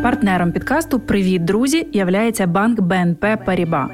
Партнером підкасту «Привіт, друзі» являється банк БНП Паріба.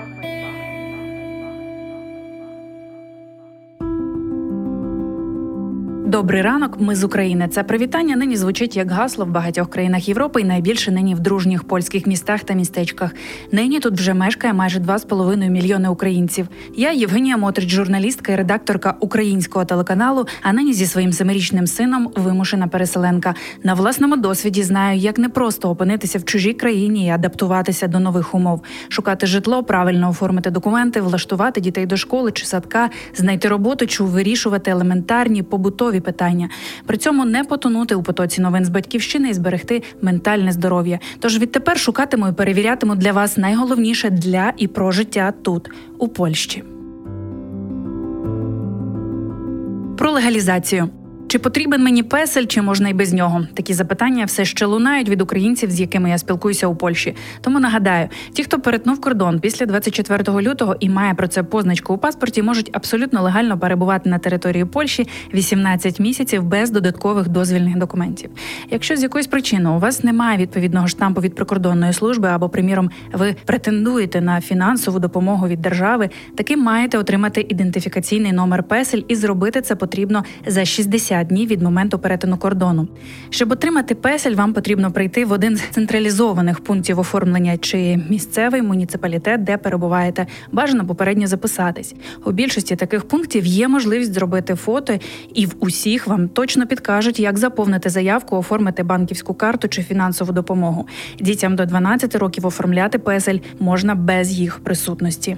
Добрий ранок, ми з України. Це привітання нині звучить як гасло в багатьох країнах Європи і найбільше нині в дружніх польських містах та містечках. Нині тут вже мешкає майже 2,5 мільйони українців. Я Євгенія Мотрич, журналістка і редакторка українського телеканалу, а нині зі своїм 7-річним сином вимушена переселенка. На власному досвіді знаю, як непросто опинитися в чужій країні і адаптуватися до нових умов. Шукати житло, правильно оформити документи, влаштувати дітей до школи чи садка, знайти роботу чи вирішувати елементарні побутові питання. При цьому не потонути у потоці новин з батьківщини і зберегти ментальне здоров'я. Тож відтепер шукатиму і перевірятиму для вас найголовніше для і про життя тут, у Польщі. Про легалізацію. Чи потрібен мені песель, чи можна й без нього? Такі запитання все ще лунають від українців, з якими я спілкуюся у Польщі. Тому нагадаю, ті, хто перетнув кордон після 24 лютого і має про це позначку у паспорті, можуть абсолютно легально перебувати на території Польщі 18 місяців без додаткових дозвільних документів. Якщо з якоїсь причини у вас немає відповідного штампу від прикордонної служби або, приміром, ви претендуєте на фінансову допомогу від держави, таки маєте отримати ідентифікаційний номер песель і зробити це потрібно за 60 днів від моменту перетину кордону. Щоб отримати песель, вам потрібно прийти в один з централізованих пунктів оформлення чи місцевий муніципалітет, де перебуваєте. Бажано попередньо записатись. У більшості таких пунктів є можливість зробити фото, і в усіх вам точно підкажуть, як заповнити заявку, оформити банківську карту чи фінансову допомогу. Дітям до 12 років оформляти песель можна без їх присутності.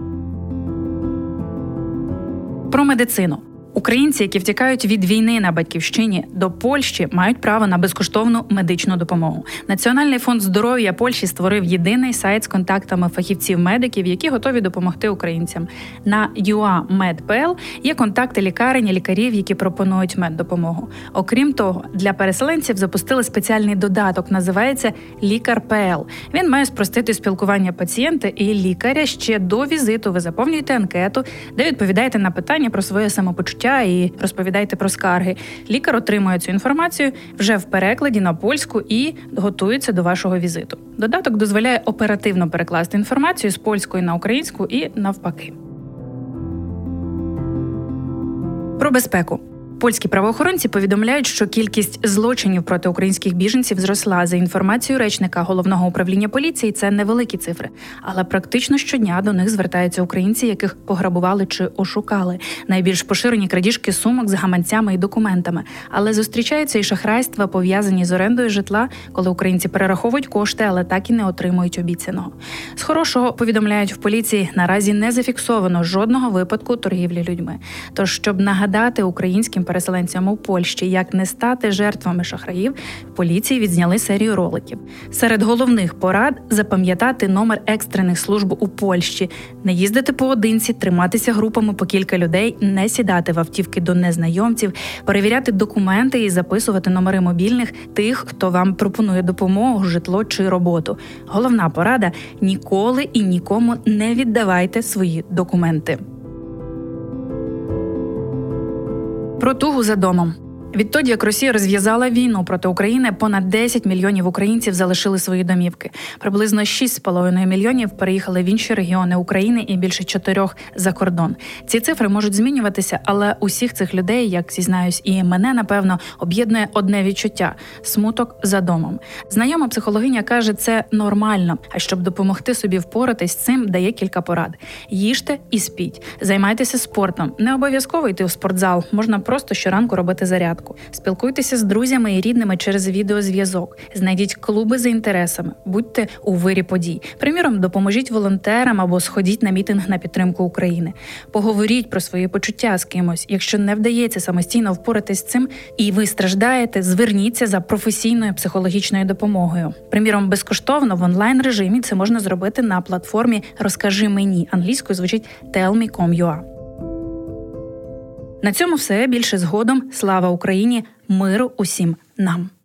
Про медицину. Українці, які втікають від війни на батьківщині до Польщі, мають право на безкоштовну медичну допомогу. Національний фонд здоров'я Польщі створив єдиний сайт з контактами фахівців-медиків, які готові допомогти українцям. На UA.Med.pl є контакти лікарень і лікарів, які пропонують меддопомогу. Окрім того, для переселенців запустили спеціальний додаток, називається «Лікар.pl». Він має спростити спілкування пацієнта і лікаря. Ще до візиту ви заповнюєте анкету, де відповідаєте на питання про своє самопочуття і розповідайте про скарги. Лікар отримує цю інформацію вже в перекладі на польську і готується до вашого візиту. Додаток дозволяє оперативно перекласти інформацію з польської на українську і навпаки. Про безпеку. Польські правоохоронці повідомляють, що кількість злочинів проти українських біженців зросла. За інформацією речника Головного управління поліції, це невеликі цифри. Але практично щодня до них звертаються українці, яких пограбували чи ошукали. Найбільш поширені крадіжки сумок з гаманцями і документами. Але зустрічаються і шахрайства, пов'язані з орендою житла, коли українці перераховують кошти, але так і не отримують обіцяного. З хорошого, повідомляють в поліції, наразі не зафіксовано жодного випадку торгівлі людьми. Тож, щоб нагадати українським переселенцям у Польщі, як не стати жертвами шахраїв, в поліції відзняли серію роликів. Серед головних порад – запам'ятати номер екстрених служб у Польщі, не їздити поодинці, триматися групами по кілька людей, не сідати в автівки до незнайомців, перевіряти документи і записувати номери мобільних тих, хто вам пропонує допомогу, житло чи роботу. Головна порада – ніколи і нікому не віддавайте свої документи. Про тугу за домом. Відтоді, як Росія розв'язала війну проти України, понад 10 мільйонів українців залишили свої домівки. Приблизно 6,5 мільйонів переїхали в інші регіони України і більше 4 за кордон. Ці цифри можуть змінюватися, але усіх цих людей, як зізнаюсь, і мене, напевно, об'єднує одне відчуття – смуток за домом. Знайома психологиня каже, це нормально, а щоб допомогти собі впоратись з цим, дає кілька порад. Їжте і спіть. Займайтеся спортом. Не обов'язково йти у спортзал, можна просто щоранку робити зарядку. Спілкуйтеся з друзями і рідними через відеозв'язок. Знайдіть клуби за інтересами. Будьте у вирі подій. Приміром, допоможіть волонтерам або сходіть на мітинг на підтримку України. Поговоріть про свої почуття з кимось. Якщо не вдається самостійно впоратись з цим і ви страждаєте, зверніться за професійною психологічною допомогою. Приміром, безкоштовно в онлайн-режимі це можна зробити на платформі «Розкажи мені». Англійською звучить tellme.com.ua. На цьому все. Більше згодом. Слава Україні! Миру усім нам!